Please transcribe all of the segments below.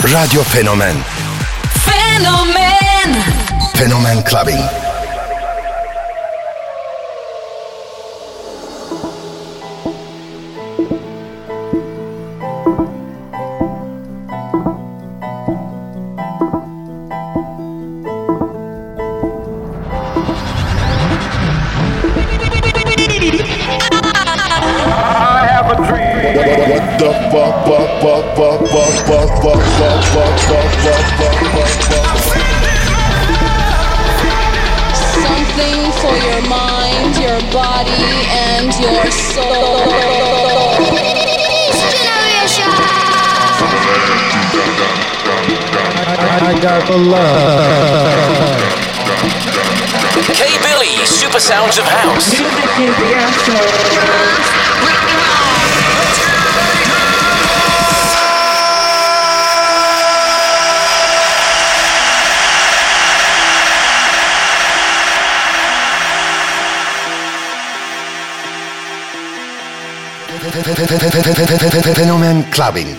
Radyo Fenomen. Fenomen. Fenomen Clubbing. Something for your mind, your body, and your soul. I got the love. K Billy, Super Sounds of House. Fenomen Clubbing.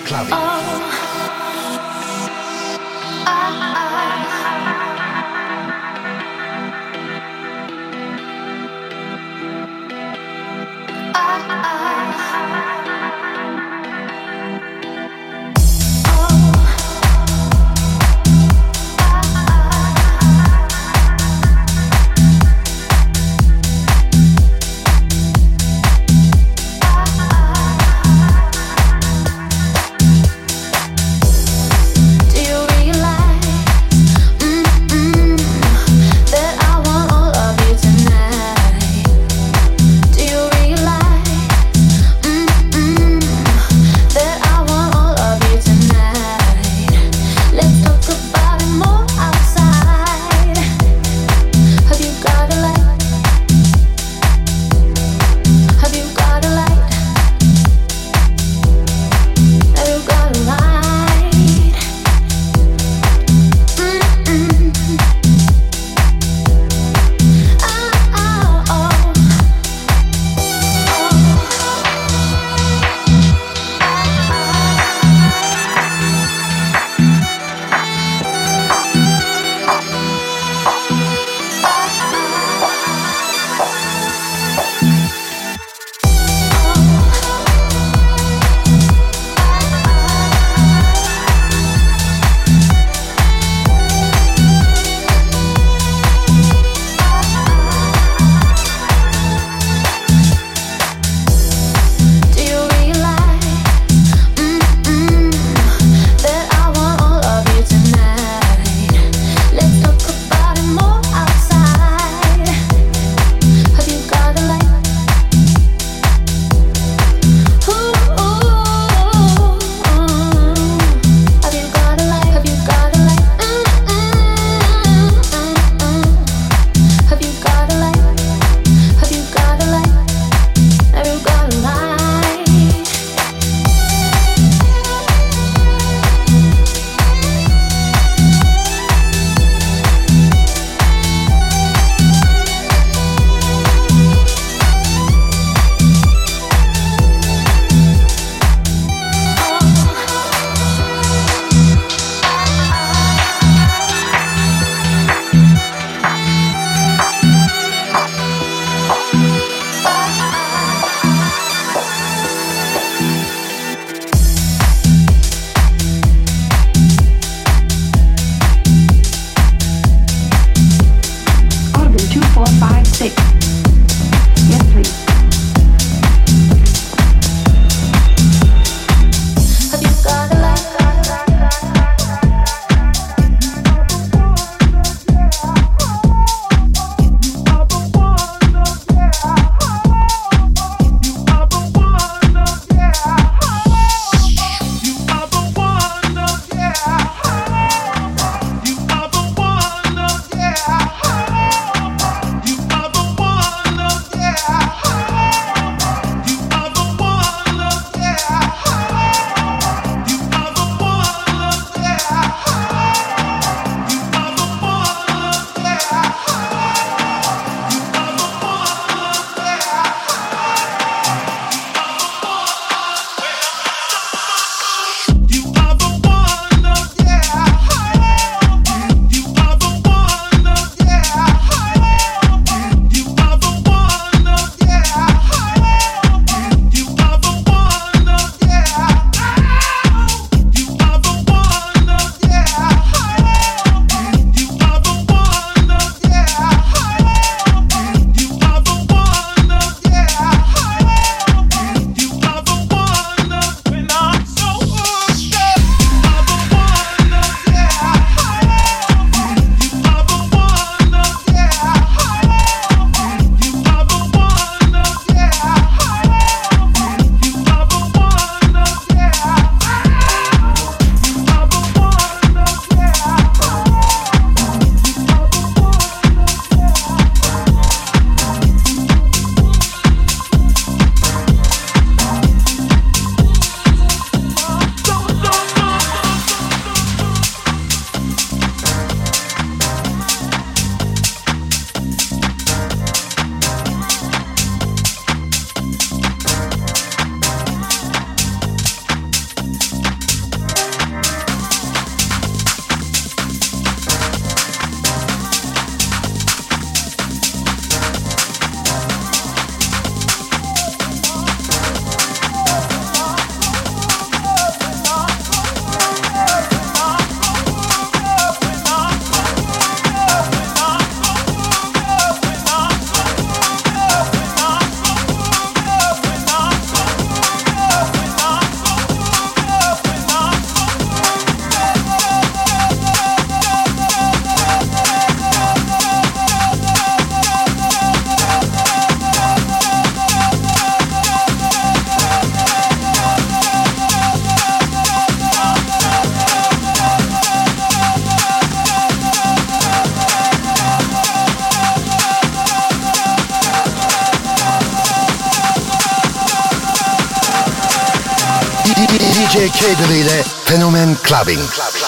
DJ K-Billy ile Fenomen Clubbing.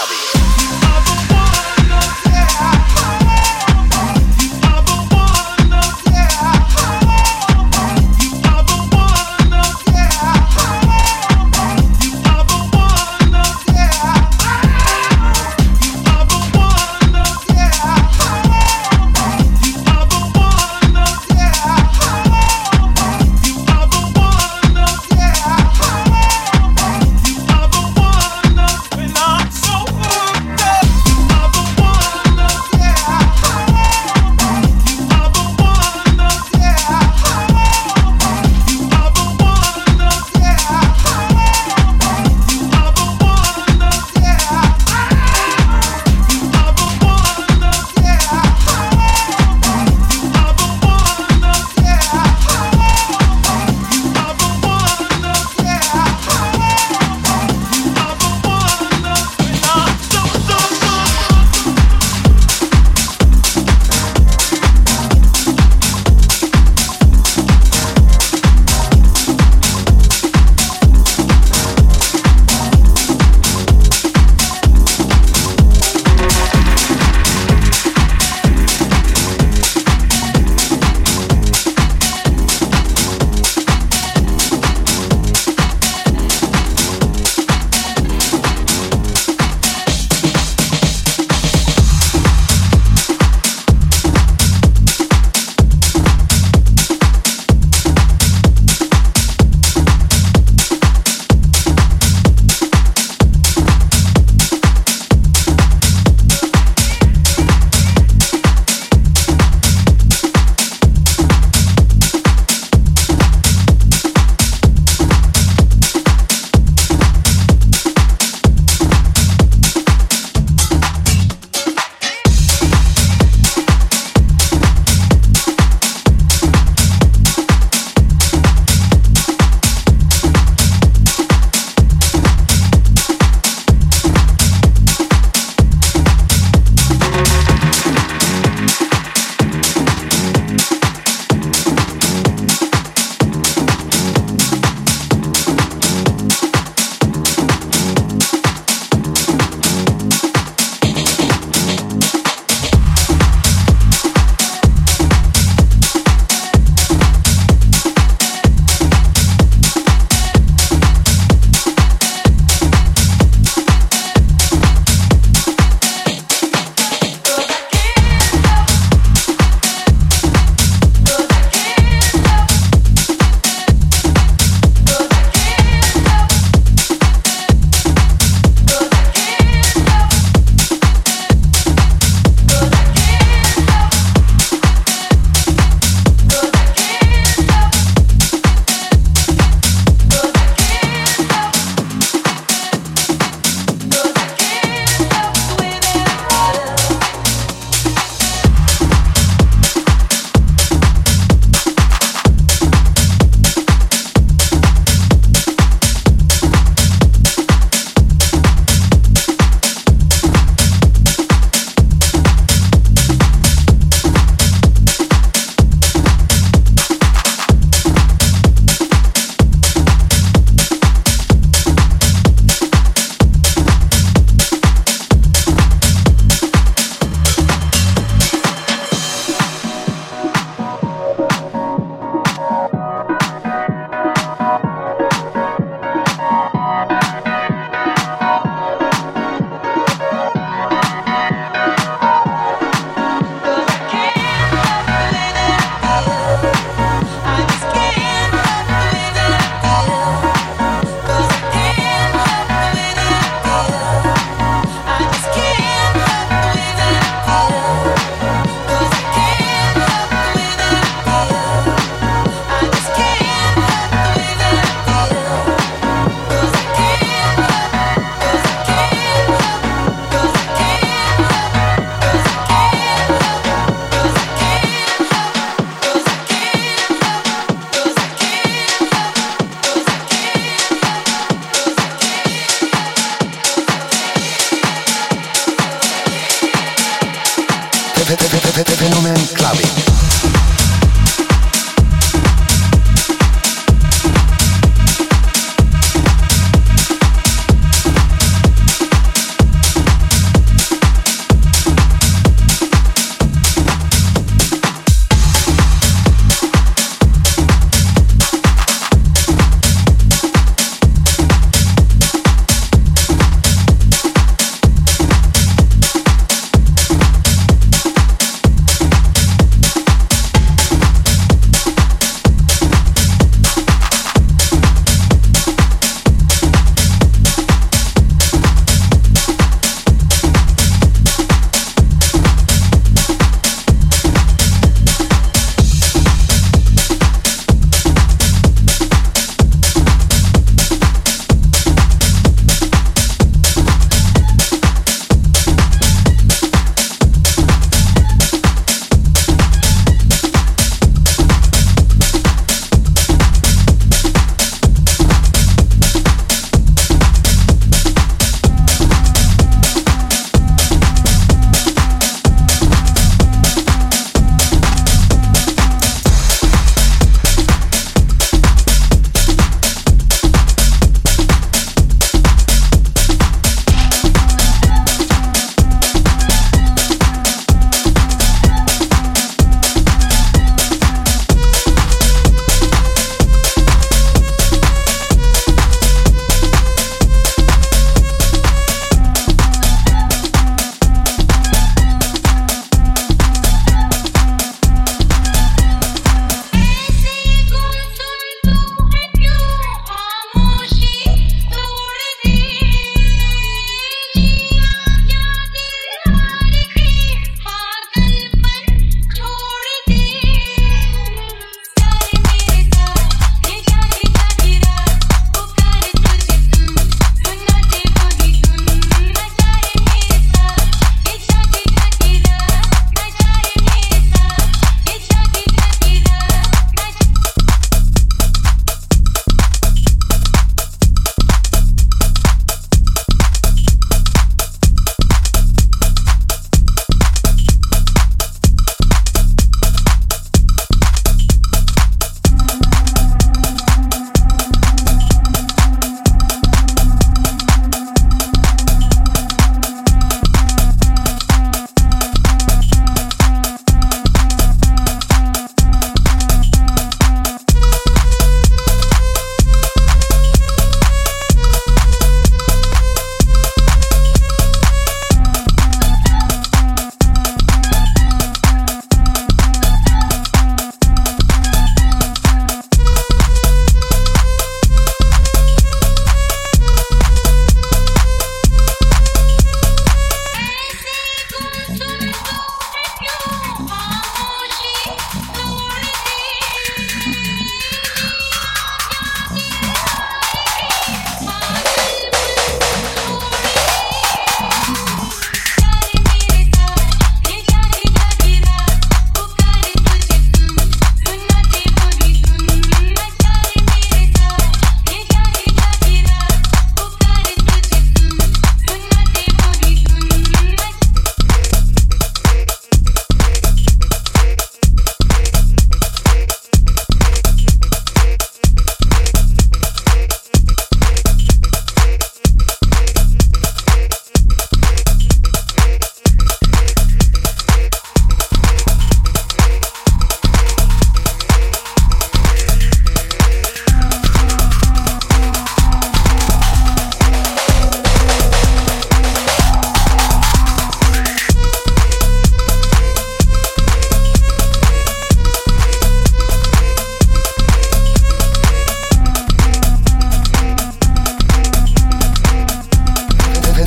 Fenomen Clubbing.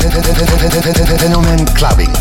Fenomen Clubbing.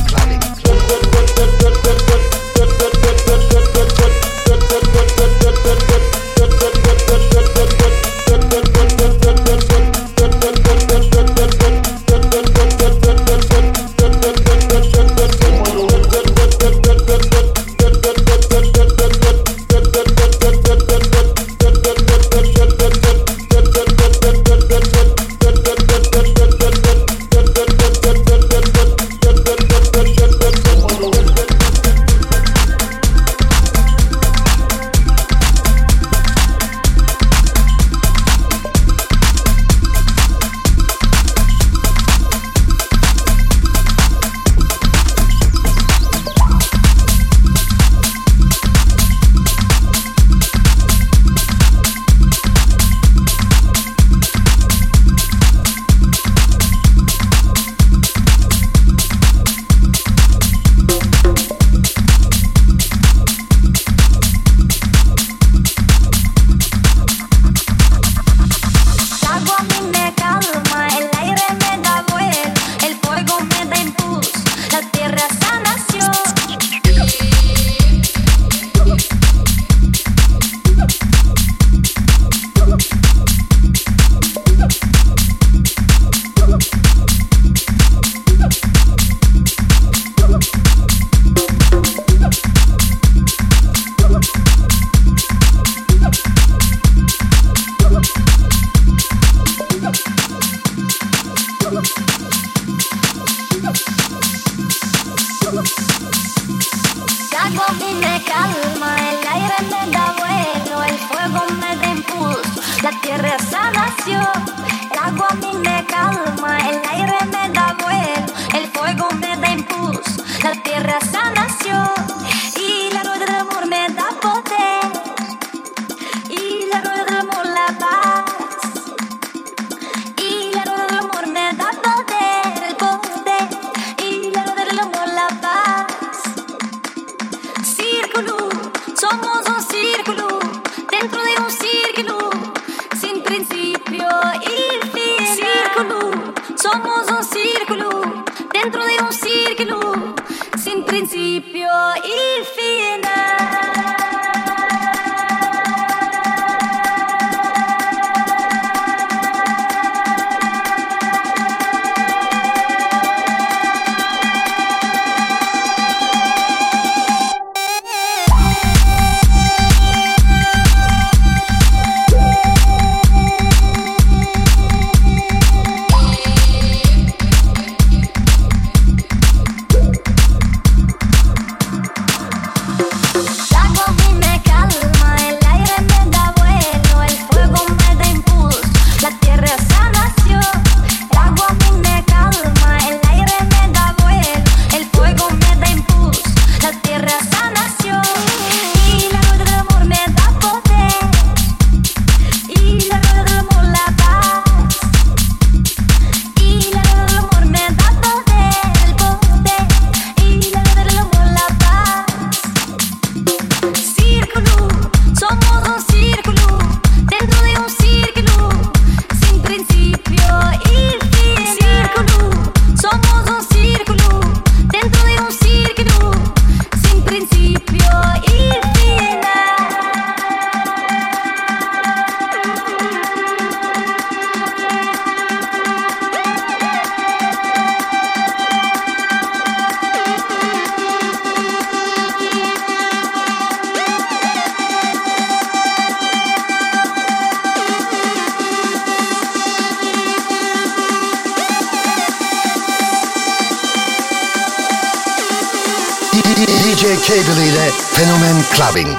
DJ Cable ile Fenomen Clubbing.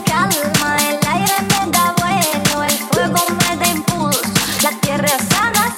La tierra sana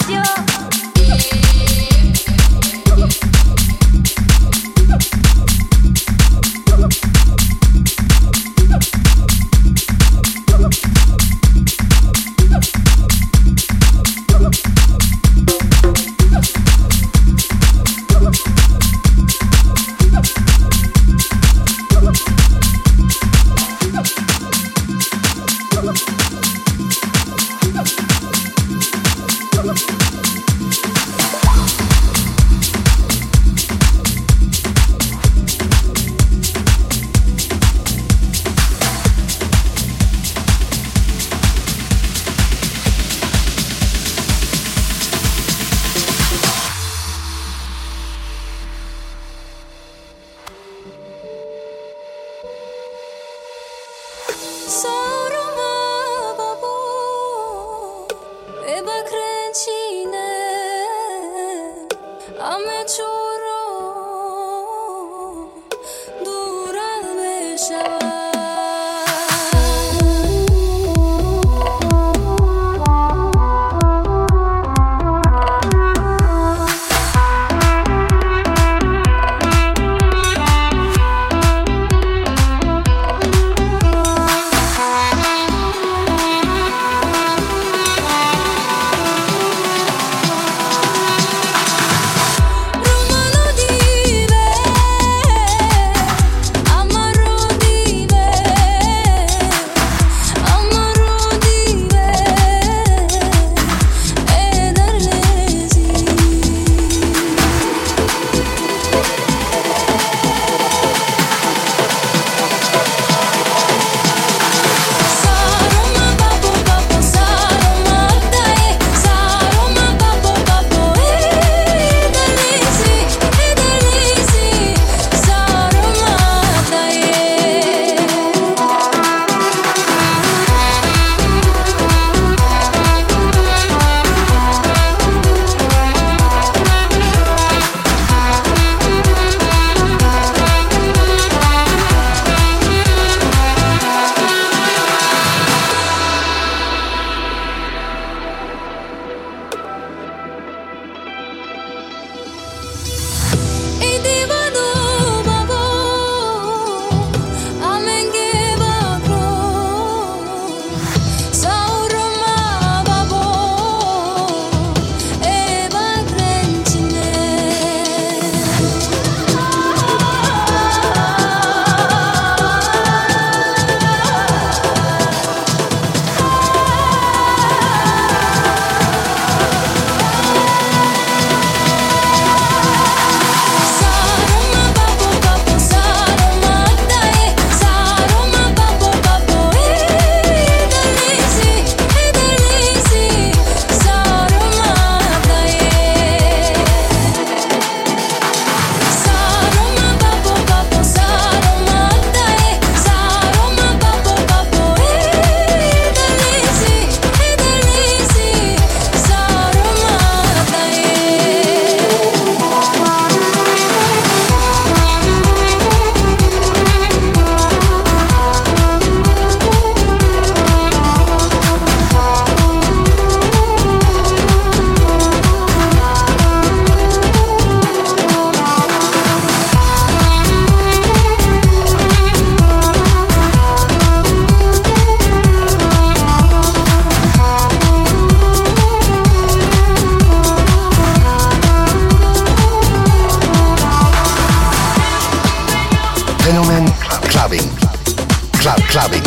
Clubbing.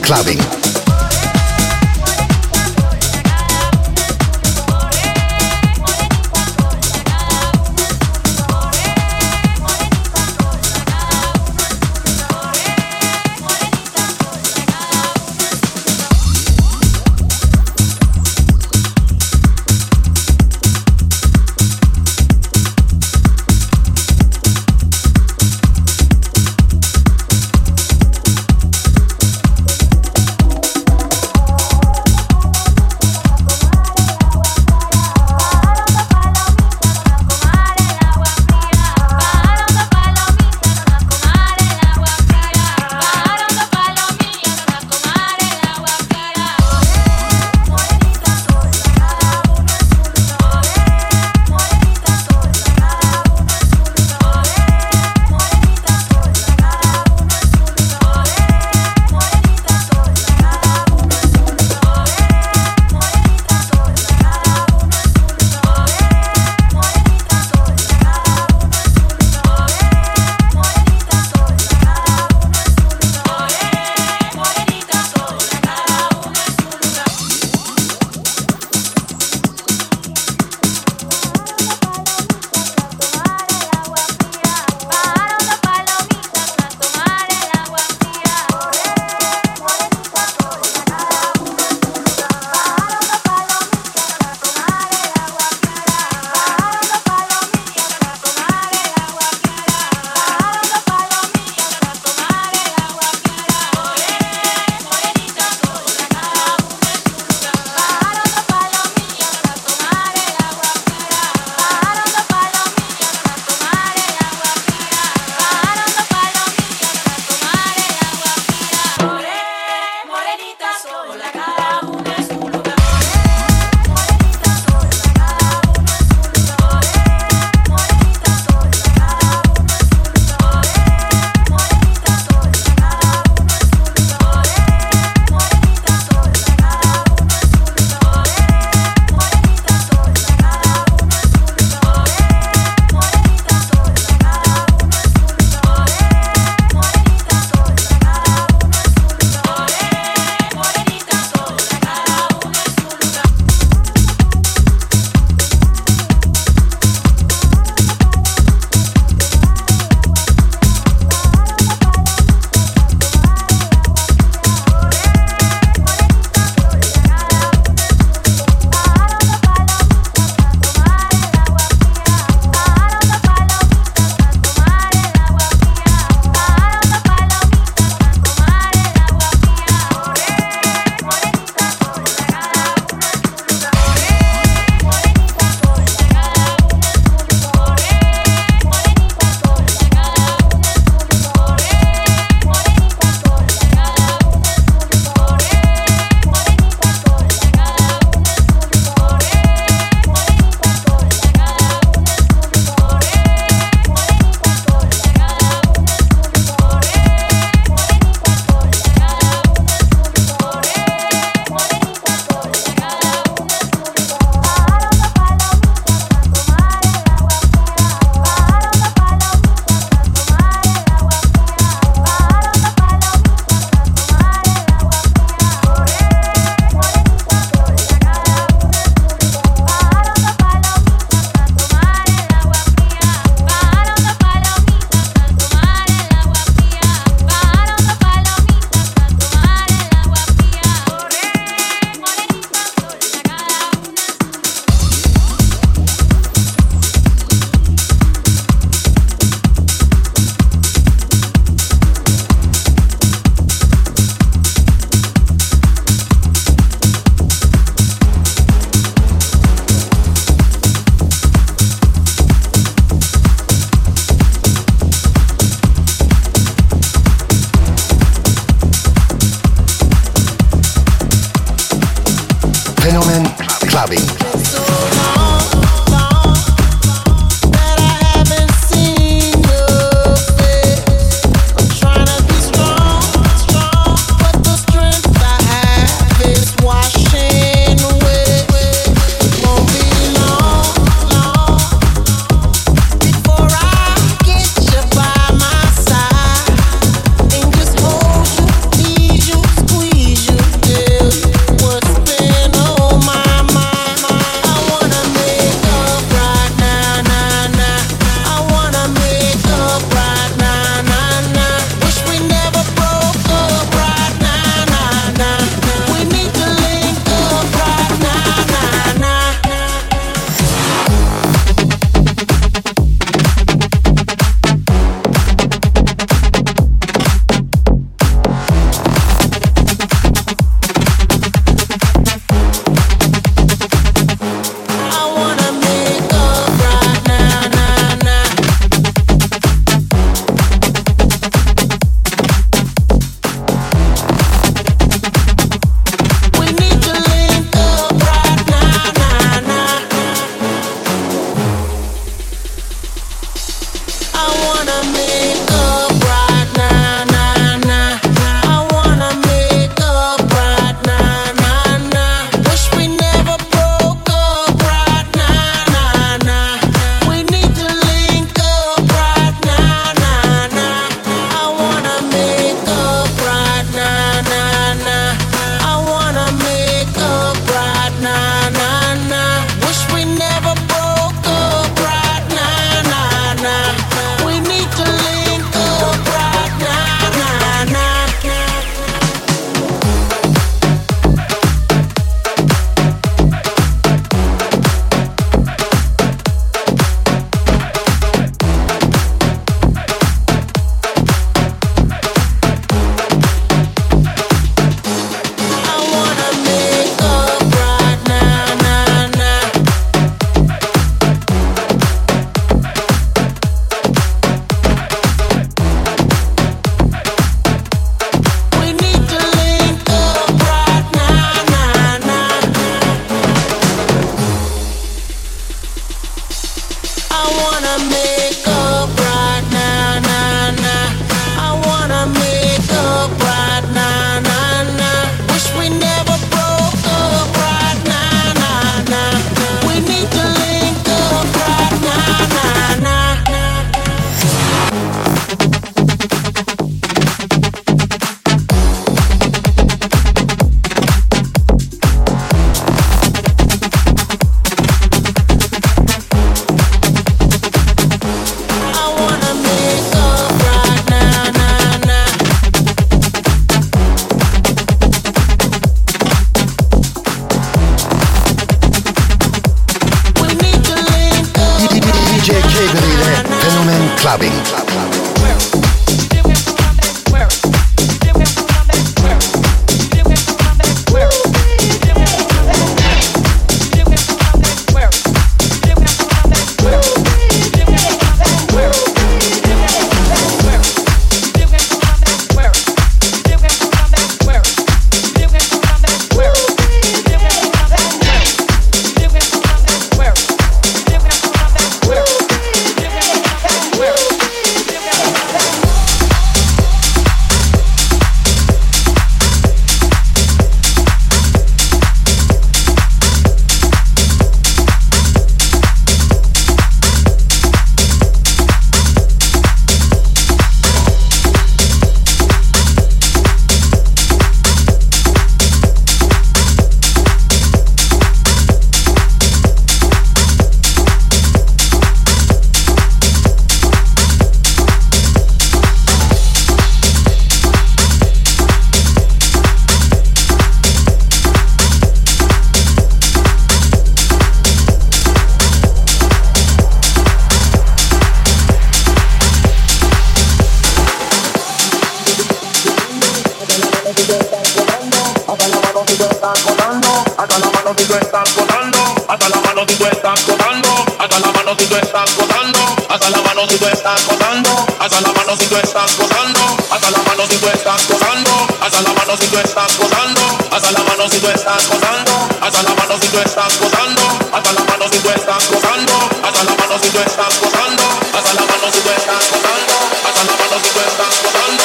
Clubbing. tú estás gozando, hasta la mano si tú estás gozando, hasta la mano si tú estás gozando, hasta la mano si tú estás gozando, hasta la mano si tú estás gozando, hasta la mano si tú estás gozando, hasta la mano si tú estás gozando, hasta la mano si tú estás gozando, hasta la mano si tú estás gozando, hasta la mano si tú estás gozando, hasta la mano si tú estás gozando, hasta la mano si tú estás gozando, hasta la mano si tú estás gozando.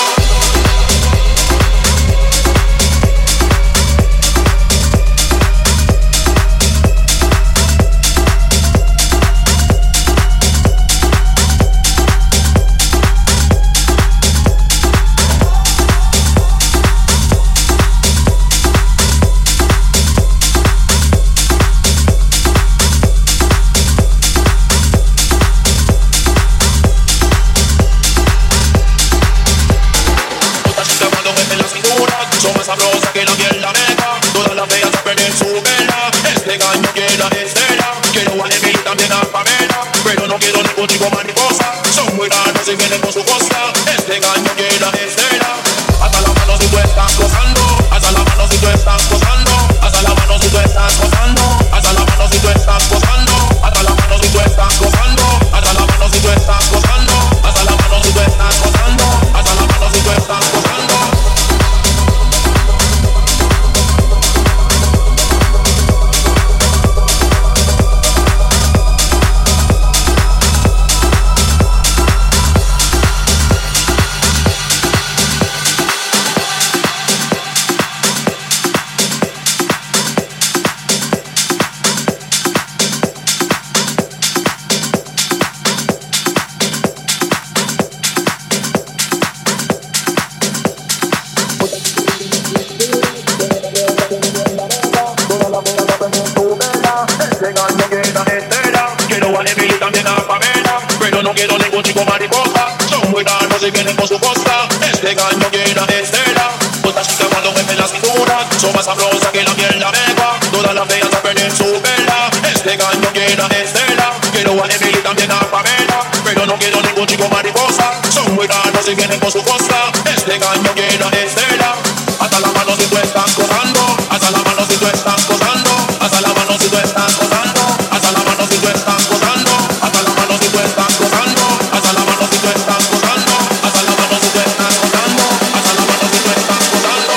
Sabrosa que la piel la meca, todas las bellas a perder su vela. Este gallo quiere a Estela, quiero a Emily también a Pamela, pero no quiero ningún chico mariposa. Son muy raros y vienen con su costa. Este gallo quiere a Estela. Hasta la mano si tú estás gozando, hasta la mano si tú estás gozando, hasta la mano si tú estás gozando, hasta la mano si tú estás gozando, hasta la mano si tú estás gozando, hasta la mano si tú estás gozando, hasta la mano si tú estás gozando, hasta la mano si tú estás gozando. No quiero ningún chico mariposa, son muy raros y vienen con su costa. Este gallo quiere a Estela. Otra chica cuando mueve la cintura, son más sabrosas que la miel de abeja. Todas las bellas a perder su vela. Este gallo quiere a Estela. Quiero a Emily también a Pamela, pero no quiero ningún chico mariposa. Son muy raros y vienen con su costa. Este gallo quiere a Estela. Hasta la mano si tú estás gozando, hasta la mano si tú estás gozando, hasta la mano si tú estás gozando, hasta la mano si tú estás gozando, hasta la mano si tú estás gozando, hasta la mano si tú estás gozando, hasta la mano si tú estás gozando, hasta la mano si tú estás gozando.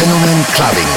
Fenomen Clubbing.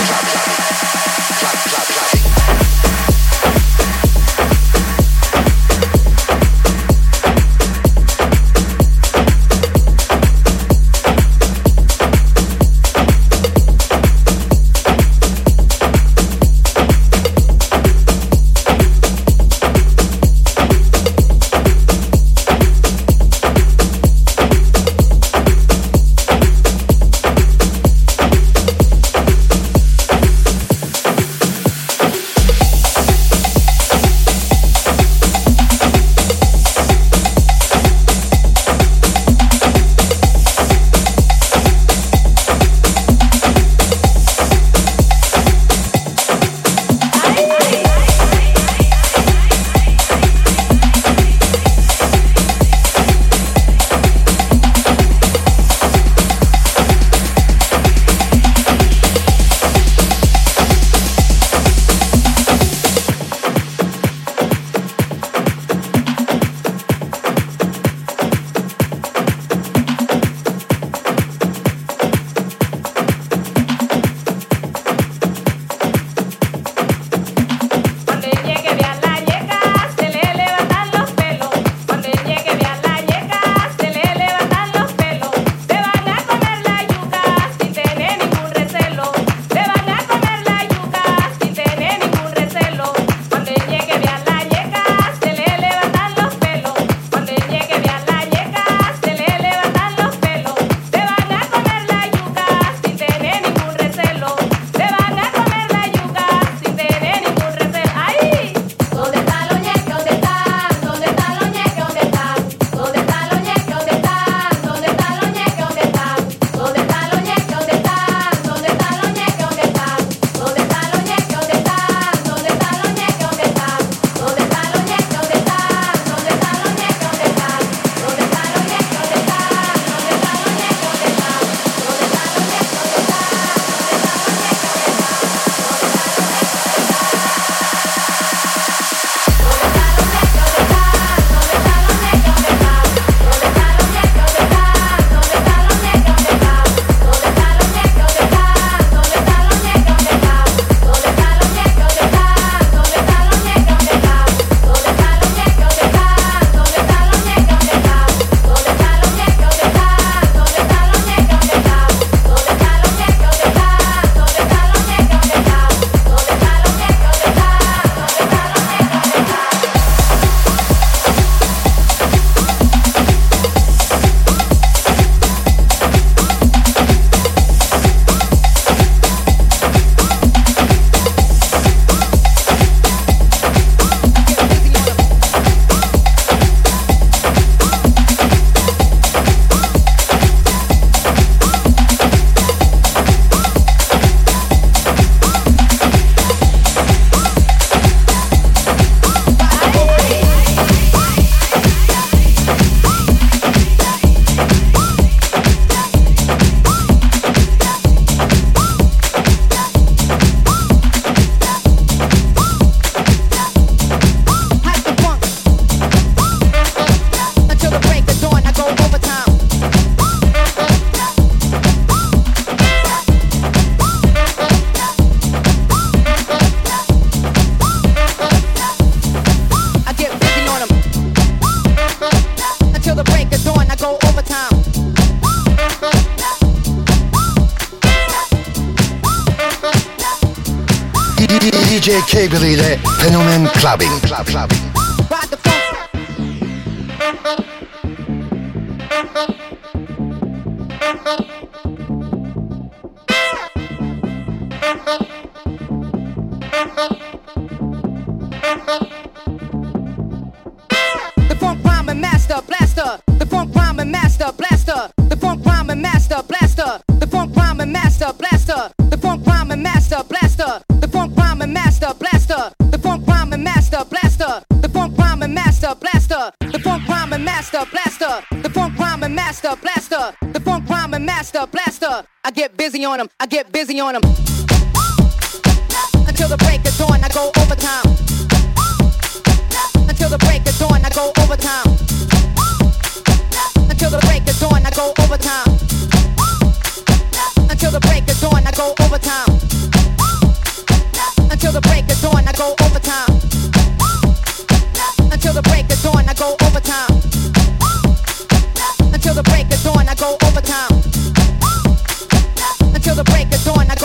DJ Cable ile Fenomen Clubbing. The funk rhyming master blaster. The funk rhyming master blaster. The funk rhyming master blaster. The funk rhyming master blaster. The funk rhyming master blaster. The funk rhyming master blaster. The funk rhyming master blaster. The funk rhyming master blaster. The funk rhyming master blaster. The funk rhyming master blaster. The funk rhyming master blaster. I get busy on 'em. I get busy on 'em. Until the break of dawn, I go overtime. Until the break of dawn, I go overtime. Until the break of dawn, I go overtime. Until the break of dawn, I go overtime.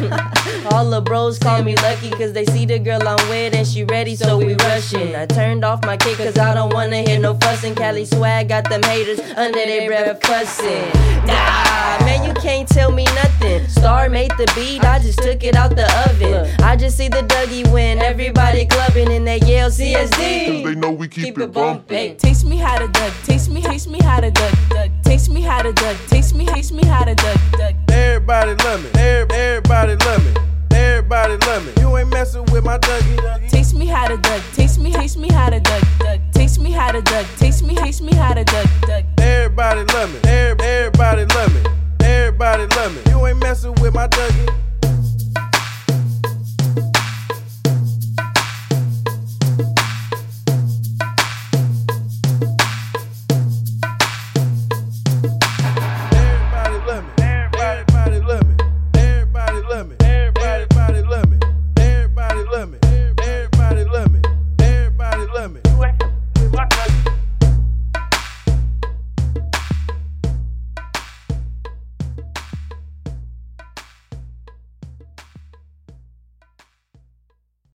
All the bros call me lucky cause they see the girl I'm with and she ready, so we rushing. I turned off my kick cause I don't wanna hear no fussing. Cali swag got them haters under their breath cussing. Nah, man, you can't tell me nothing. Star made the beat, I just took it out the oven. I just see the Dougie win, everybody clubbing and they yell CSD. They know we keep it bumping. Hey, taste me how to Doug, taste me how to Doug, taste me how to Doug, taste me how to Doug. Everybody love me, everybody love me, everybody love me. You ain't messing with my Dougie. Taste me how to Doug, taste me how to Doug, taste me how to Doug, taste me how to Doug. Everybody love me, everybody love me, everybody love me. You ain't messing with my Dougie.